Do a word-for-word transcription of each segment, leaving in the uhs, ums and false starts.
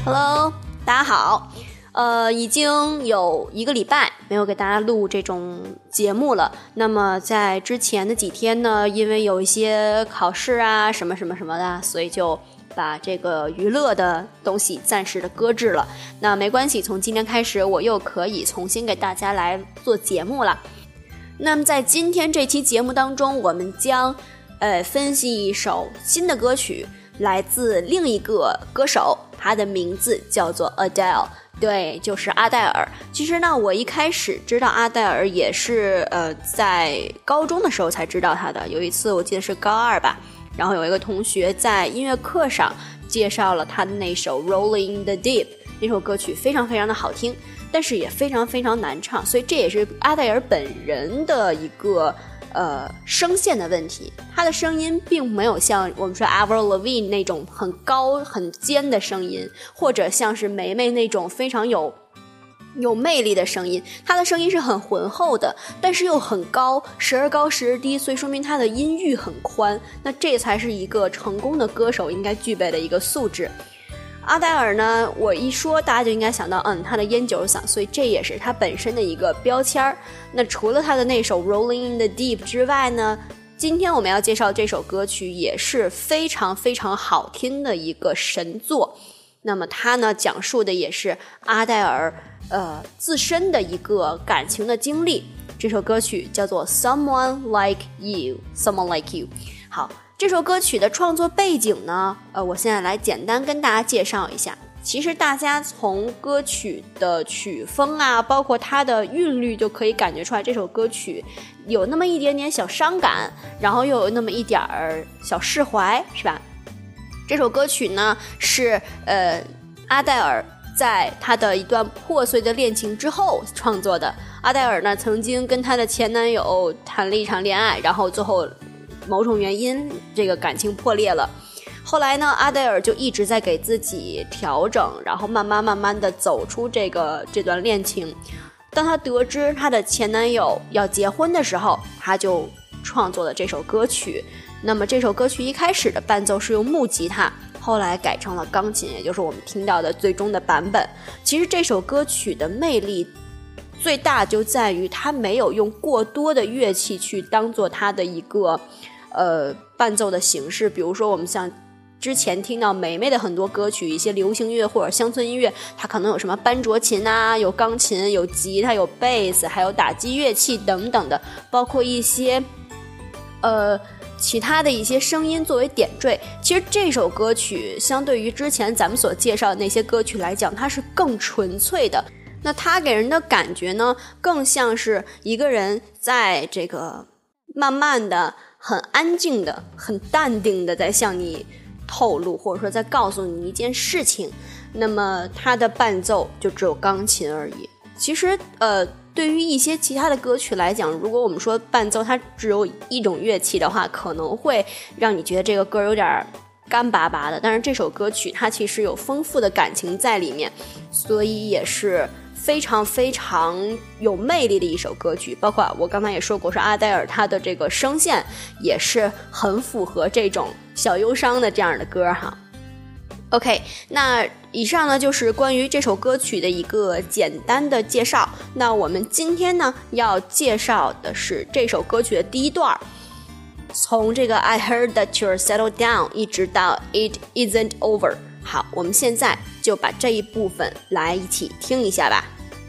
Hello， 大家好。呃，已经有一个礼拜没有给大家录这种节目了。那么在之前的几天呢，因为有一些考试啊，什么什么什么的，所以就把这个娱乐的东西暂时的搁置了。那没关系，从今天开始我又可以重新给大家来做节目了。那么在今天这期节目当中，我们将呃分析一首新的歌曲，来自另一个歌手，他的名字叫做 Adele， 对，就是阿黛尔。其实呢，我一开始知道阿黛尔也是呃在高中的时候才知道他的。有一次我记得是高二吧，然后有一个同学在音乐课上介绍了他的那首 Rolling in the Deep， 那首歌曲非常非常的好听，但是也非常非常难唱，所以这也是阿黛尔本人的一个呃声线的问题。她的声音并没有像我们说 Avril Lavigne 那种很高很尖的声音，或者像是梅梅那种非常有有魅力的声音。她的声音是很浑厚的，但是又很高，时而高时而低，所以说明她的音域很宽。那这才是一个成功的歌手应该具备的一个素质。阿黛尔呢，我一说大家就应该想到嗯，她的烟酒嗓，所以这也是她本身的一个标签儿。那除了她的那首 Rolling in the Deep 之外呢，今天我们要介绍这首歌曲也是非常非常好听的一个神作。那么它呢，讲述的也是阿黛尔呃自身的一个感情的经历。这首歌曲叫做 Someone Like You Someone Like You。 好，这首歌曲的创作背景呢，呃，我现在来简单跟大家介绍一下。其实大家从歌曲的曲风啊，包括它的韵律就可以感觉出来，这首歌曲有那么一点点小伤感，然后又有那么一点儿小释怀，是吧？这首歌曲呢是呃阿黛尔在她的一段破碎的恋情之后创作的。阿黛尔呢曾经跟她的前男友谈了一场恋爱，然后最后某种原因这个感情破裂了。后来呢，阿黛尔就一直在给自己调整，然后慢慢慢慢的走出这个这段恋情。当她得知她的前男友要结婚的时候，她就创作了这首歌曲。那么这首歌曲一开始的伴奏是用木吉他，后来改成了钢琴，也就是我们听到的最终的版本。其实这首歌曲的魅力最大就在于它没有用过多的乐器去当做它的一个呃伴奏的形式。比如说我们像之前听到梅梅的很多歌曲，一些流行乐或者乡村音乐，它可能有什么班卓琴啊，有钢琴，有吉他，有贝斯，还有打击乐器等等的，包括一些呃其他的一些声音作为点缀。其实这首歌曲相对于之前咱们所介绍的那些歌曲来讲，它是更纯粹的。那它给人的感觉呢，更像是一个人在这个慢慢的很安静的很淡定的在向你透露，或者说在告诉你一件事情。那么它的伴奏就只有钢琴而已。其实呃对于一些其他的歌曲来讲，如果我们说伴奏它只有一种乐器的话，可能会让你觉得这个歌有点干巴巴的。但是这首歌曲它其实有丰富的感情在里面，所以也是非常非常有魅力的一首歌曲。包括我刚才也说过，是阿黛尔她的这个声线也是很符合这种小忧伤的这样的歌哈。OK， 那以上呢就是关于这首歌曲的一个简单的介绍。那我们今天呢要介绍的是这首歌曲的第一段，从这个 I heard that you're settled down 一直到 It isn't over。 好，我们现在就把这一部分来一起听一下吧。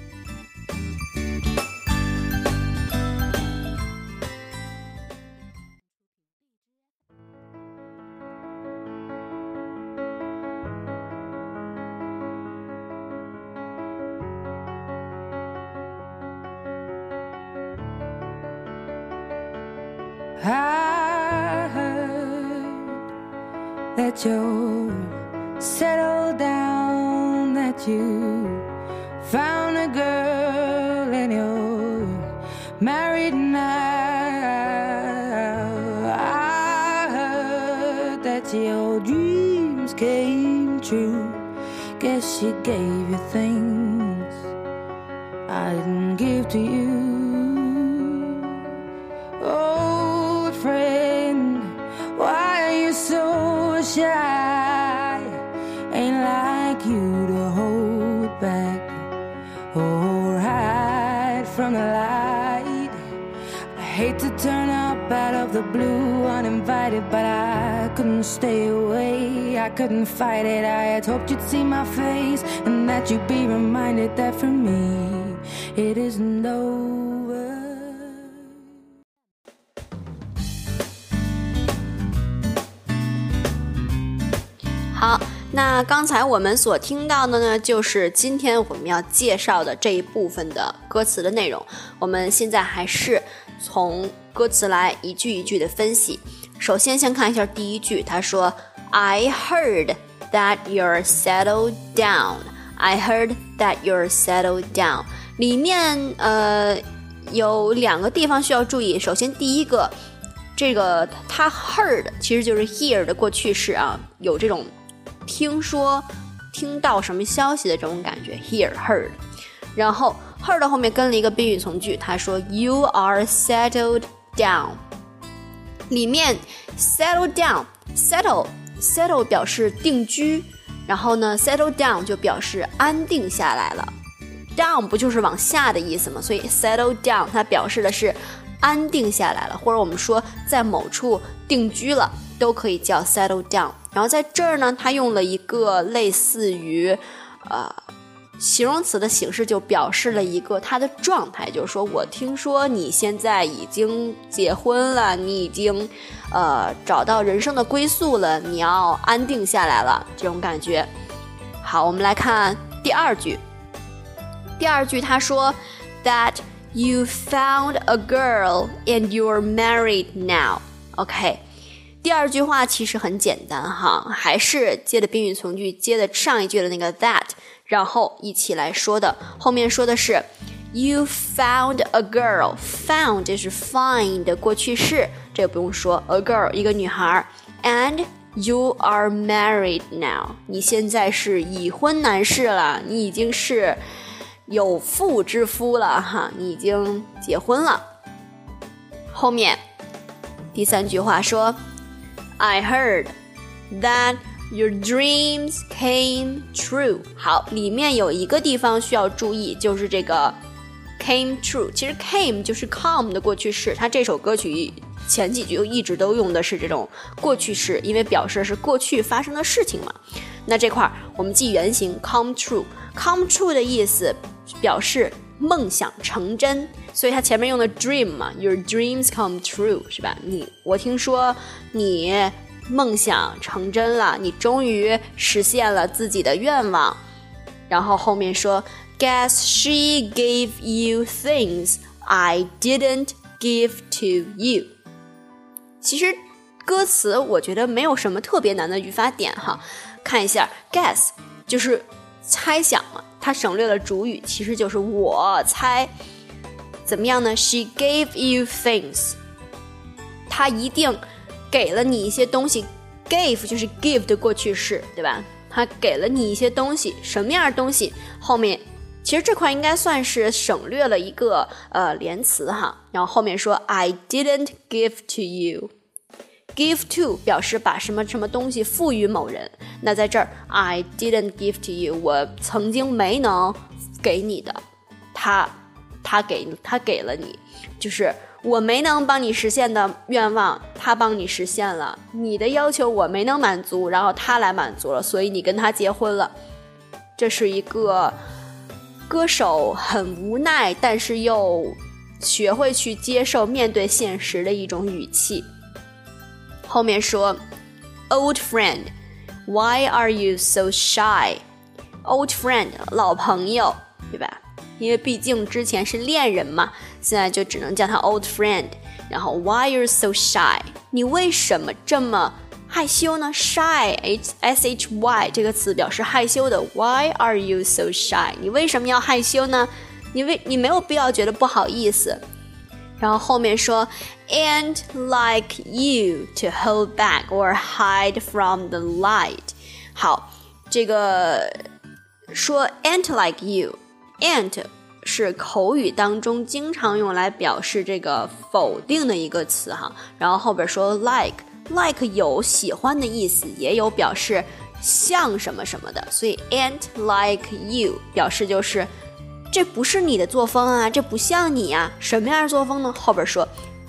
I heard that you're settled down, that you found a girl and you're married now. I heard that your dreams came true. Guess she gave you things I didn't give to you. Old friend, why are you so shy? Ain't like you turn up out of the blue, uninvited, but I couldn't stay away. I couldn't fight it. I had hoped you'd see my face and that you'd be reminded that for me it isn't over. 好，那刚才我们所听到的呢，就是今天我们要介绍的这一部分的歌词的内容。我们现在还是从歌词来一句一句的分析。首先先看一下第一句，他说 I heard that you're settled down. I heard that you're settled down. 里面呃有两个地方需要注意。首先第一个，这个他 heard 其实就是 hear 的过去式啊，有这种听说听到什么消息的这种感觉 hear heard， 然后 heard 后面跟了一个宾语从句，他说 you are settled down。 里面 settle down settle settle 表示定居，然后呢 settle down 就表示安定下来了， down 不就是往下的意思吗？所以 settle down 它表示的是安定下来了，或者我们说在某处定居了都可以叫 settle down。然后在这儿呢，他用了一个类似于呃形容词的形式，就表示了一个他的状态，就是说我听说你现在已经结婚了，你已经呃找到人生的归宿了，你要安定下来了，这种感觉。好，我们来看第二句。第二句他说 that you found a girl and you're married now. OK，第二句话其实很简单哈，还是接的宾语从句，接的上一句的那个 that， 然后一起来说的。后面说的是 you found a girl， found 这是 find 的过去式，这个不用说， a girl 一个女孩， and you are married now， 你现在是已婚男士了，你已经是有妇之夫了哈，你已经结婚了。后面第三句话说I heard that your dreams came true. 好，里面有一个地方需要注意，就是这个 came true。其实 came 就是 come 的过去式，它这首歌曲前几句一直都用的是这种过去式，因为表示是过去发生的事情嘛。那这块我们记原形 come true。come true 的意思表示梦想成真，所以它前面用的 dream 嘛 ，your dreams come true 是吧？你我听说你梦想成真了，你终于实现了自己的愿望。然后后面说 ，Guess she gave you things I didn't give to you。其实歌词我觉得没有什么特别难的语法点哈，看一下 ，guess 就是猜想嘛。它省略了主语，其实就是我猜。怎么样呢？ She gave you things， 她一定给了你一些东西。 Gave 就是 give 的过去式，对吧？她给了你一些东西，什么样的东西？后面其实这块应该算是省略了一个呃连词哈，然后后面说 I didn't give to you。Give to 表示把什么什么东西赋予某人，那在这儿 I didn't give to you， 我曾经没能给你的，他他给他给了你，就是我没能帮你实现的愿望，他帮你实现了，你的要求我没能满足，然后他来满足了，所以你跟他结婚了。这是一个歌手很无奈，但是又学会去接受面对现实的一种语气。后面说 Old friend, why are you so shy? Old friend 老朋友，对吧？因为毕竟之前是恋人嘛，现在就只能叫他 old friend。然后 why are you so shy? 你为什么这么害羞呢？ Shy, S H Y 这个词表示害羞的。 Why are you so shy? 你为什么要害羞呢？你为你没有必要觉得不好意思。然后后面说 and like you to hold back or hide from the light。 好，这个说 and like you， and 是口语当中经常用来表示这个否定的一个词哈，然后后边说 like like 有喜欢的意思，也有表示像什么什么的，所以 and like you 表示就是这不是你的作风啊，这不像你啊。什么样的作风呢？后边说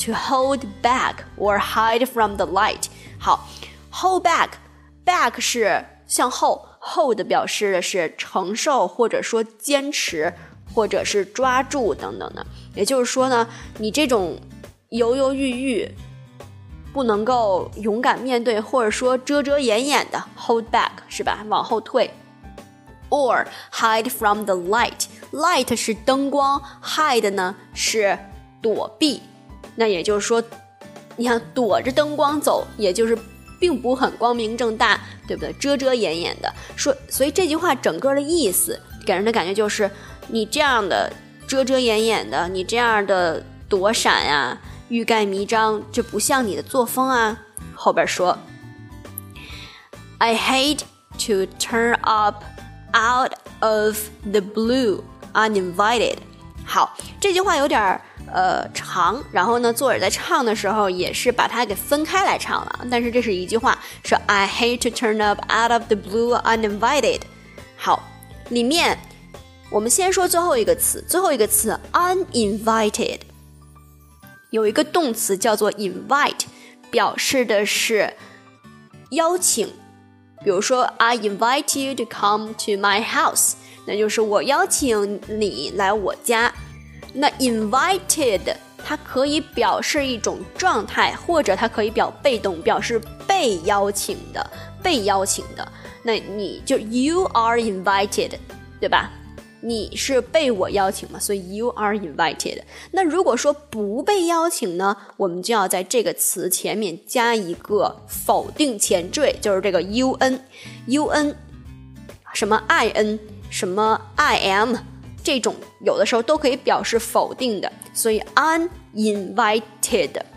to hold back or hide from the light。 好， hold back back 是向后， hold 表示的是承受或者说坚持或者是抓住等等的。也就是说呢，你这种犹犹豫豫不能够勇敢面对，或者说遮遮掩掩的 hold back 是吧，往后退。 or hide from the light， light 是灯光， hide 呢是躲避。那也就是说你看躲着灯光走，也就是并不很光明正大，对不对？遮遮掩掩的说，所以这句话整个的意思给人的感觉就是你这样的遮遮掩掩的，你这样的躲闪啊，欲盖弥彰，这不像你的作风啊。后边说 I hate to turn up out of the blue uninvited。 好，这句话有点呃长，然后呢作者在唱的时候也是把它给分开来唱了，但是这是一句话，说 I hate to turn up out of the blue uninvited。 好，里面我们先说最后一个词，最后一个词 uninvited 有一个动词叫做 invite， 表示的是邀请。比如说 I invite you to come to my house， 那就是我邀请你来我家。那 invited 它可以表示一种状态，或者它可以表被动，表示被邀请的，被邀请的。那你就 you are invited， 对吧？你是被我邀请嘛，所以 you are invited。 那如果说不被邀请呢，我们就要在这个词前面加一个否定前缀，就是这个 un un 什么 in 什么 I am， 这种有的时候都可以表示否定的，所以 uninvited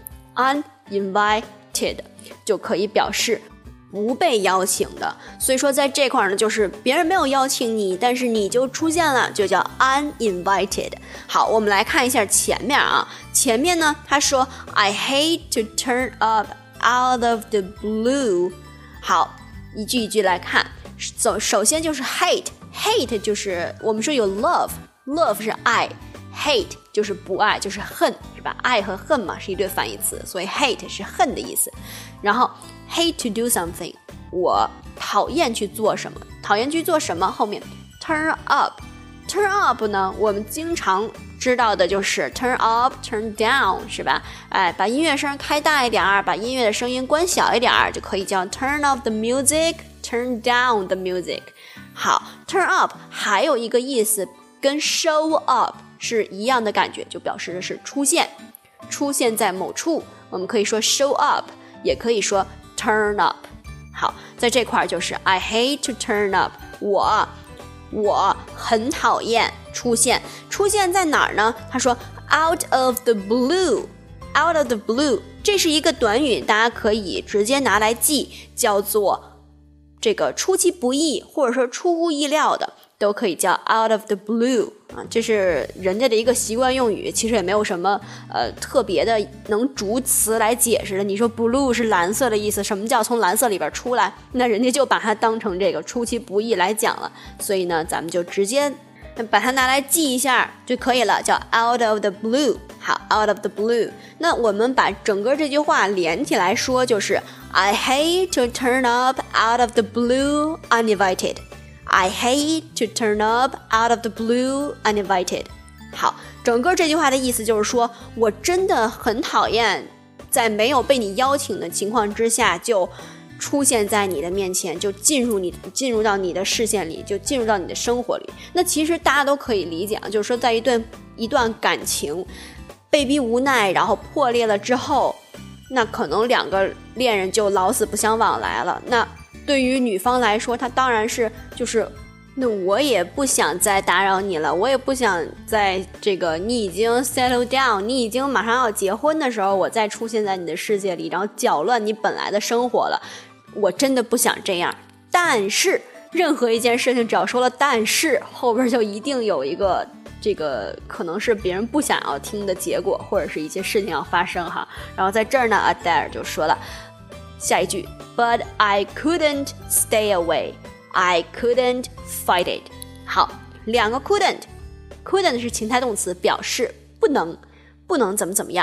uninvited 就可以表示不被邀请的。所以说在这块呢，就是别人没有邀请你，但是你就出现了，就叫 uninvited。 好，我们来看一下前面啊，前面呢他说 I hate to turn up out of the blue。 好，一句一句来看。首首先就是 hate hate 就是我们说有 love love 是爱， hate 就是不爱，就是恨，是吧？爱和恨嘛是一对反义词，所以 hate 是恨的意思。然后 hate to do something， 我讨厌去做什么，讨厌去做什么，后面 turn up turn up 呢，我们经常知道的就是 turn up turn down， 是吧？哎，把音乐声开大一点，把音乐的声音关小一点，就可以叫 turn up the music turn down the music。 好， turn up 还有一个意思跟 show up 是一样的感觉，就表示的是出现，出现在某处，我们可以说 show up， 也可以说 turn up。 好，在这块就是 I hate to turn up， 我我很讨厌出现，出现在哪儿呢？他说 out of the blue out of the blue， 这是一个短语，大家可以直接拿来记，叫做这个出其不意，或者说出乎意料的，都可以叫 out of the blue 啊，这是人家的一个习惯用语，其实也没有什么呃特别的能逐词来解释的。你说 blue 是蓝色的意思，什么叫从蓝色里边出来？那人家就把它当成这个出其不意来讲了，所以呢，咱们就直接把它拿来记一下就可以了，叫 out of the blue。 好， out of the blue， 那我们把整个这句话连起来说，就是 I hate to turn up out of the blue uninvited。 I hate to turn up out of the blue uninvited。 好，整个这句话的意思就是说，我真的很讨厌在没有被你邀请的情况之下就出现在你的面前，就进入你进入到你的视线里，就进入到你的生活里。那其实大家都可以理解啊，就是说在一段一段感情被逼无奈然后破裂了之后，那可能两个恋人就老死不相往来了。那对于女方来说，她当然是就是那我也不想再打扰你了，我也不想在这个你已经 settle down， 你已经马上要结婚的时候，我再出现在你的世界里，然后搅乱你本来的生活了。我真的不想这样。但是任何一件事情只要说了但是，后边就一定有一个这个可能是别人不想要听的结果，或者是一些事情要发生哈。然后在这儿呢 Adair 就说了下一句 But I couldn't stay away I couldn't fight it。 好，两个 couldn't couldn't 是情态动词，表示不能不能怎么怎么样。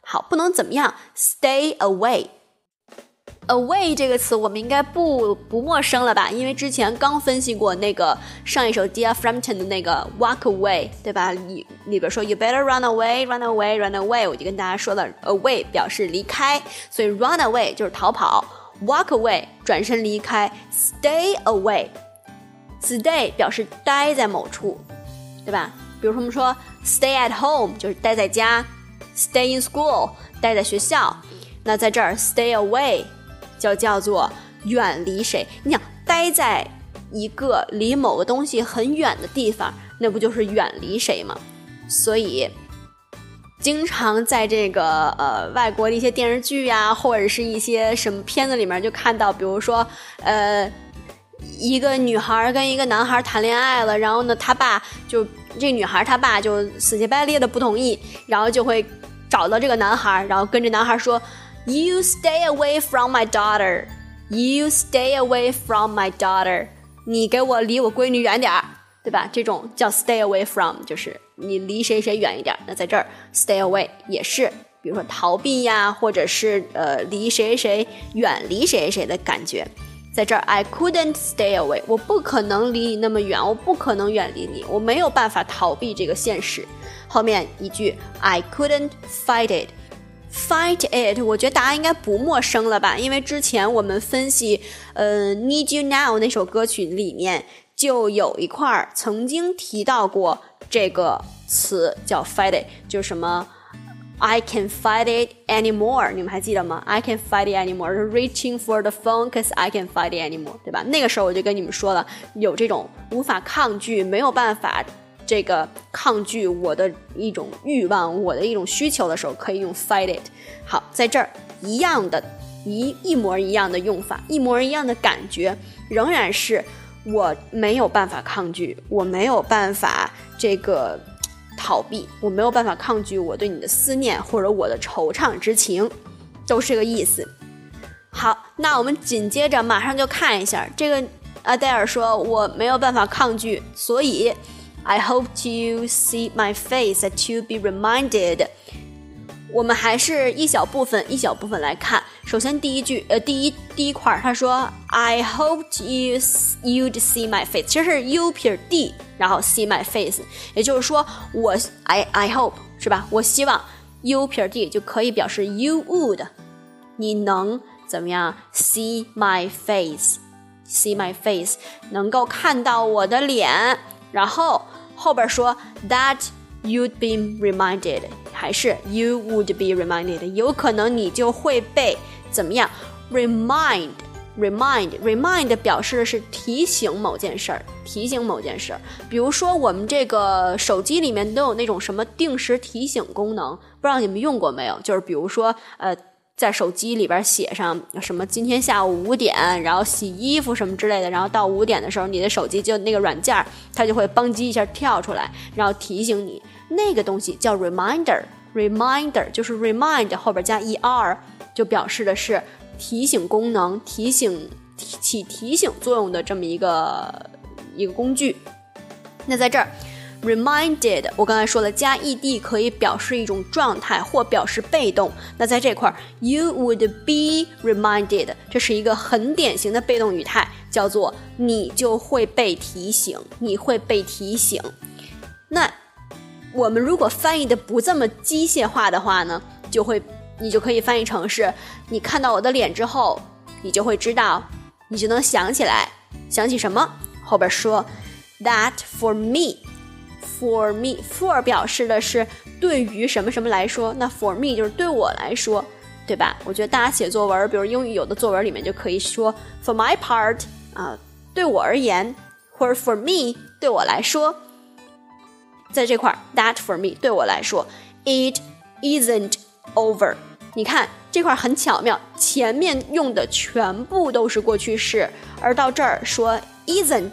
好，不能怎么样 stay away。Away 这个词我们应该不不陌生了吧，因为之前刚分析过那个上一首 Dear Frampton 的那个 Walk Away， 对吧？里里边说 You better run away, run away, run away， 我就跟大家说了 away 表示离开，所以 run away 就是逃跑， walk away 转身离开， stay away stay 表示待在某处，对吧？比如说我们说 stay at home 就是待在家， stay in school 待在学校，那在这儿 stay away就叫做远离谁。你想待在一个离某个东西很远的地方，那不就是远离谁吗？所以经常在这个呃外国的一些电视剧呀、啊，或者是一些什么片子里面就看到，比如说呃一个女孩跟一个男孩谈恋爱了，然后呢他爸就这个女孩他爸就死乞白赖的不同意，然后就会找到这个男孩，然后跟着男孩说You stay away from my daughter. You stay away from my daughter. 你给我离我闺女远点儿，对吧？这种叫 stay away from， 就是你离谁谁远一点。那在这儿 stay away 也是，比如说逃避呀，或者是呃离谁谁远离谁谁的感觉。在这儿 I couldn't stay away， 我不可能离你那么远，我不可能远离你，我没有办法逃避这个现实。后面一句 I couldn't fight it。Fight it 我觉得大家应该不陌生了吧，因为之前我们分析呃 Need You Now 那首歌曲里面就有一块曾经提到过这个词叫 fight it， 就是什么 I can't fight it anymore， 你们还记得吗？ I can't fight it anymore， reaching for the phone cause I can't fight it anymore， 对吧？那个时候我就跟你们说了，有这种无法抗拒，没有办法这个抗拒我的一种欲望，我的一种需求的时候，可以用 fight it。 好，在这儿一样的一一模一样的用法，一模一样的感觉，仍然是我没有办法抗拒，我没有办法这个逃避，我没有办法抗拒我对你的思念或者我的惆怅之情，都是个意思。好，那我们紧接着马上就看一下这个阿黛尔说我没有办法抗拒，所以I hope you see my face that you be reminded。 我们还是一小部分一小部分来看。首先第一句呃第一第一块他说 I hope you you'd see my face， 其实是 you 撇 d 然后 see my face， 也就是说我 I I hope 是吧，我希望 you 撇 d 就可以表示 you would， 你能怎么样 see my face see my face 能够看到我的脸，然后后边说 that you'd be reminded， 还是 you would be reminded， 有可能你就会被怎么样 remind remind remind 表示的是提醒某件事儿，提醒某件事儿。比如说我们这个手机里面都有那种什么定时提醒功能，不知道你们用过没有，就是比如说呃在手机里边写上什么今天下午五点，然后洗衣服什么之类的，然后到五点的时候你的手机就那个软件它就会邦叽一下跳出来，然后提醒你，那个东西叫 reminder reminder 就是 remind 后边加 er 就表示的是提醒功能，提醒起提醒作用的这么一个一个工具。那在这儿reminded 我刚才说了加 ed 可以表示一种状态或表示被动，那在这块 you would be reminded 这是一个很典型的被动语态，叫做你就会被提醒，你会被提醒。那我们如果翻译的不这么机械化的话呢，就会你就可以翻译成是你看到我的脸之后，你就会知道，你就能想起来，想起什么？后边说 that for me For me, for 表示的是对于什么什么来说，那 for me 就是对我来说，对吧？我觉得大家写作文，比如英语有的作文里面就可以说 for my part 啊，对我而言，或者 for me 对我来说，在这块 that for me 对我来说 it isn't over。 你看这块很巧妙，前面用的全部都是过去式，而到这儿说 isn't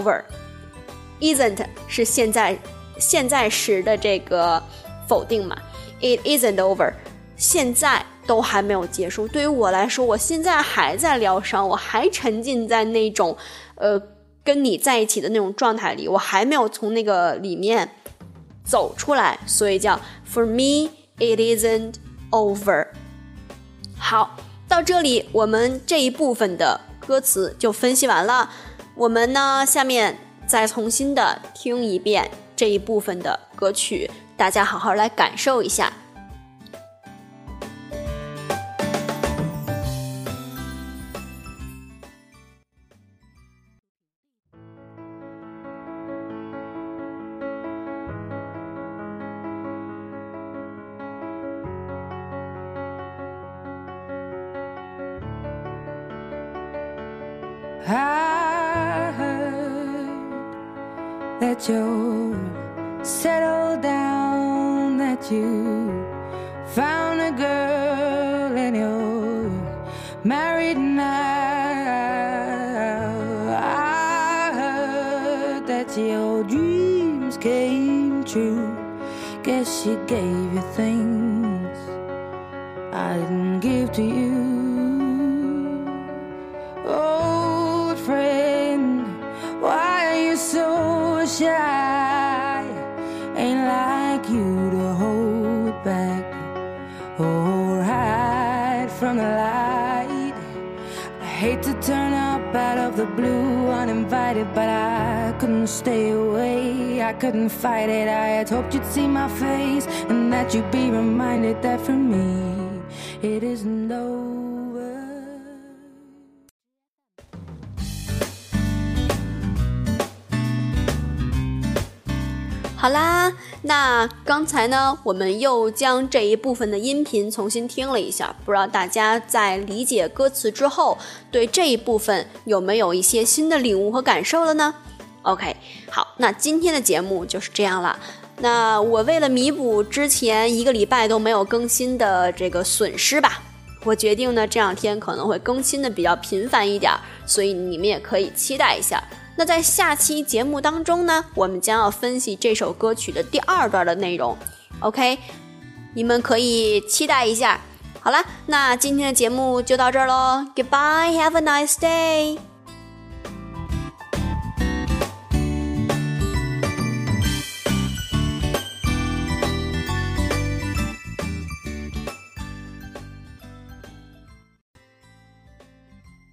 over。Isn't 是现在现在时的这个否定嘛， It isn't over 现在都还没有结束，对于我来说我现在还在疗伤，我还沉浸在那种呃跟你在一起的那种状态里，我还没有从那个里面走出来，所以叫 For me it isn't over。 好，到这里我们这一部分的歌词就分析完了，我们呢下面再重新的听一遍这一部分的歌曲，大家好好来感受一下。 I heard that you're settled down, that you found a girl and you're married now. I heard that your dreams came true. Guess she gave you things I didn't give to you.Old friend, why are you so shy? Ain't like you to hold back or hide from the light. I hate to turn up out of the blue uninvited, but I couldn't stay away. I couldn't fight it. I had hoped you'd see my face and that you'd be reminded that for me it isn't over. 好啦，那刚才呢我们又将这一部分的音频重新听了一下，不知道大家在理解歌词之后对这一部分有没有一些新的领悟和感受了呢？ OK， 好，那今天的节目就是这样了。那我为了弥补之前一个礼拜都没有更新的这个损失吧，我决定呢这两天可能会更新的比较频繁一点，所以你们也可以期待一下。那在下期节目当中呢，我们将要分析这首歌曲的第二段的内容 OK， 你们可以期待一下。好了，那今天的节目就到这儿咯， Goodbye, have a nice day。